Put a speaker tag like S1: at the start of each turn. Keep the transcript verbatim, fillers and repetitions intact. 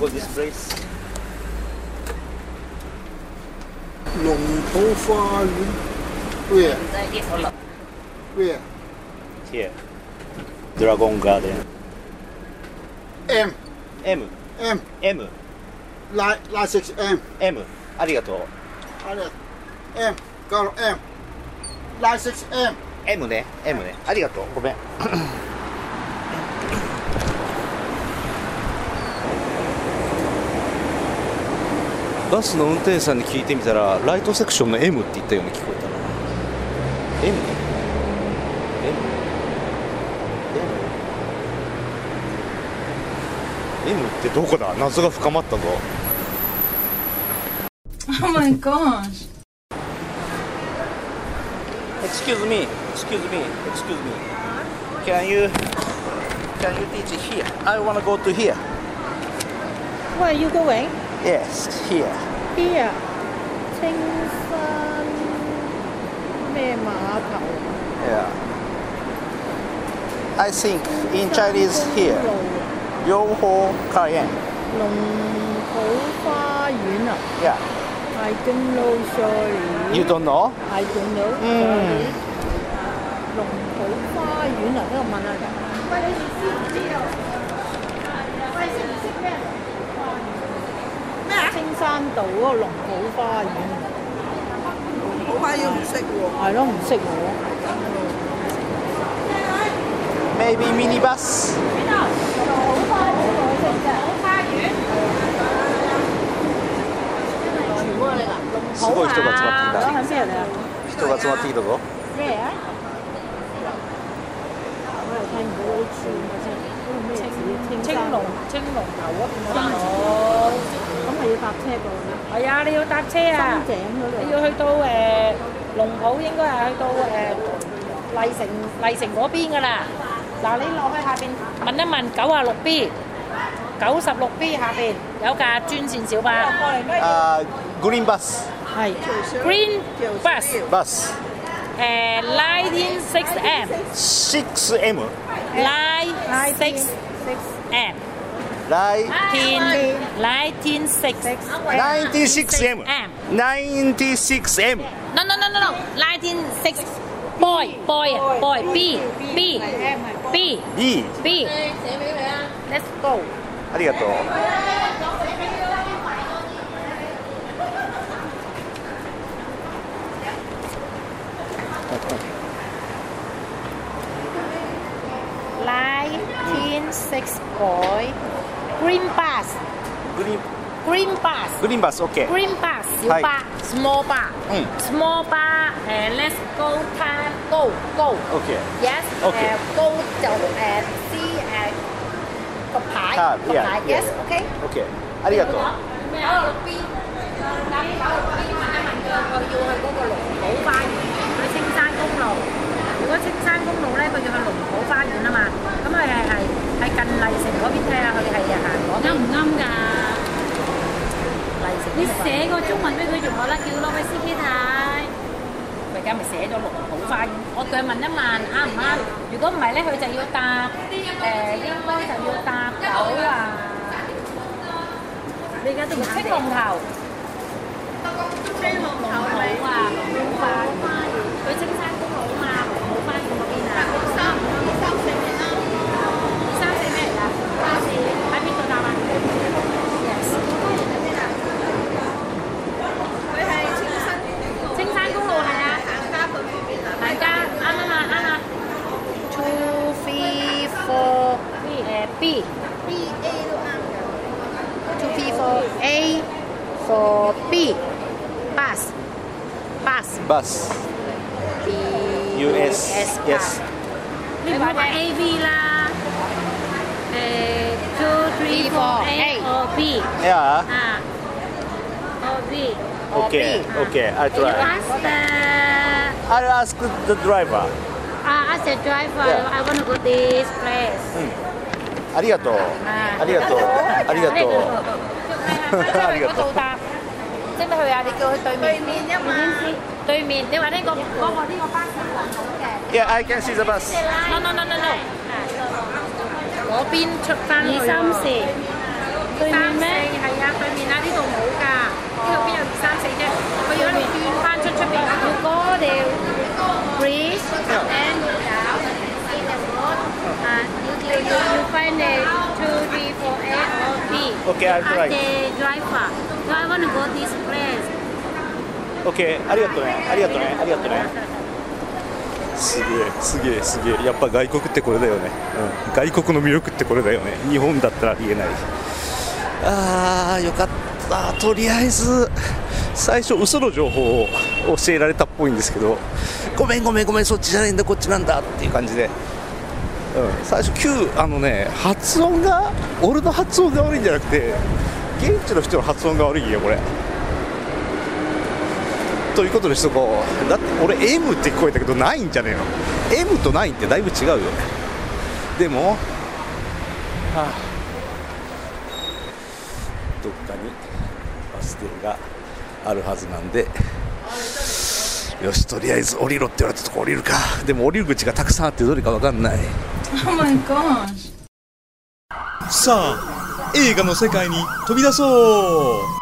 S1: go this place?
S2: 龙头花园。Where? Where?
S1: Here. Dragon Garden.
S2: M.
S1: M.
S2: M.
S1: M.
S2: Line line six M.
S1: M. ありがとう。
S2: あれ。M. Go M. Line six M.
S1: M ね。M ね。ありがとう。ごめん。バスの運転手さんに聞いてみたら、ライトセクションの M って言ったように聞こえたな。M? M? M? M ってどこだ？謎が深まったぞ。
S3: Oh my gosh.
S1: Excuse me, excuse me, excuse me. Can you, can you teach here? I want to go to here.
S3: Where are you going?
S1: Yes, here.
S3: Here. 青山咩碼頭
S1: Yeah. I think in Chinese here. 両方花園。
S3: 龍浦花園啊
S1: Yeah.
S3: I don't know, sorry.
S1: You don't know?
S3: I don't know.
S1: 嗯。
S3: 龍浦花園啊，呢個問下佢。喂，你哋知唔知啊？喂，識唔識咩？咩啊？青山道嗰個龍浦花園。龍浦花園唔識喎。係咯，唔識喎。
S1: Maybe minibus.
S3: 邊度？龍浦花園。龍浦花園。全部嚟㗎。
S1: すごい人が集まっていた。
S3: 喺邊嚟啊？
S1: 人が集まっていたぞ。
S3: 咩啊？我又睇唔到嗰啲字嘅啫。嗰個咩字？青龍青龍頭嗰邊嗰度。咁係要搭車過去。係啊，你要搭車啊！深井嗰度。你要去到誒龍浦，應該係去到誒麗城麗城嗰邊㗎啦。嗱，你落去下邊問一問九啊六 B， 九十六 B 下邊有架專線小巴。
S1: 啊 ，Green bus。
S3: 係 Green bus。
S1: Bus。
S3: 誒 nineteen six M。
S1: six M。
S3: nine six M。nineteen nineteen six
S1: ninety six M。ninety six M。
S3: No no no no no nineteen six boy boy boy B B B
S1: B。
S3: B。Let's go。
S1: ありがとう。
S3: nineteen six boy green bus
S1: Green
S3: green bus
S1: Green bus OK。
S3: green bus 小巴 small bar
S1: 嗯
S3: small bar 誒 let's go time go go
S1: OK。
S3: yes 誒
S1: OK
S3: go 就誒 see 誒個牌
S1: 啊
S3: 個牌
S1: yeah
S3: yes OK
S1: OK。ありがとう。
S3: 九啊六 B 搭九啊六 B 問一問佢，佢要去嗰個龍浦花園，去青山公路。如果青山公路咧，佢要去龍浦花園啊嘛，咁佢係係係近麗城嗰邊睇下，佢係行嗰邊。啱唔啱㗎？麗城。你寫個中文俾佢仲好啦，叫攞俾司機睇。佢而家咪寫咗龍浦花園，我叫佢問一問啱唔啱？如果唔係咧，佢就要搭誒，應該就要搭九啊。你而家都唔青龍頭。青龍頭啊，龍浦花園，佢青山公路啊嘛，龍浦花園嗰邊啊。三二三四咩啦？二三四咩嚟㗎？巴士喺邊度搭啊 ？Yes。佢係青山青山公路係啊，行家去嗰邊啊。行家啱啱啊啱啊。Two three four 誒 B B A 都啱㗎。Two three four A for B bus bus
S1: Bus。
S3: B
S1: U S yes。
S3: 你話嘅 A B 啦，誒 two three four A or B
S1: Yeah。
S3: 啊，or B
S1: OK OK。I try。
S3: Ask the
S1: I ask the driver。
S3: ah ask the driver I want to go this place。
S1: うん。ありがとう。ありがとう。ありがとう。ありがとう。
S3: 識得去啊？你叫佢對面。對面啫嘛。對面，你話呢個嗰個呢個巴士揾到嘅。
S1: Yeah, I can see the bus。
S3: No no no no no。嗰邊出翻去。二三四。 三四係啊，對面啊，呢度冇㗎，呢度邊有二三四啫？佢要喺度轉翻出出邊。You go there, breathe, and then go down and see the road. And you you you find the two, three, four, A or B.
S1: Okay, I'll try.
S3: And the driver. So I want to go this place.
S1: OK、ありがとうね、ありがとうね、ありがとうね。すげえ、すげえ、すげえ、やっぱ外国ってこれだよね、うん、外国の魅力ってこれだよね、日本だったらありえない。あー、よかった、とりあえず、最初、嘘の情報を教えられたっぽいんですけど、ごめん、ごめん、ごめん、そっちじゃないんだ、こっちなんだっていう感じで、うん、最初、Q、あのね、発音が、俺の発音が悪いんじゃなくて、現地の人の発音が悪いよ、これ。ということにしとこう。だって俺 M って聞こえたけどナインじゃねえの。 M とナインってだいぶ違うよね。でも、はあ、どっかにバス停があるはずなんで、よし、とりあえず降りろって言われたとこ降りるか。でも降りる口がたくさんあってどれか分かんない。
S4: Oh my gosh。
S5: さあ映画の世界に飛び出そう。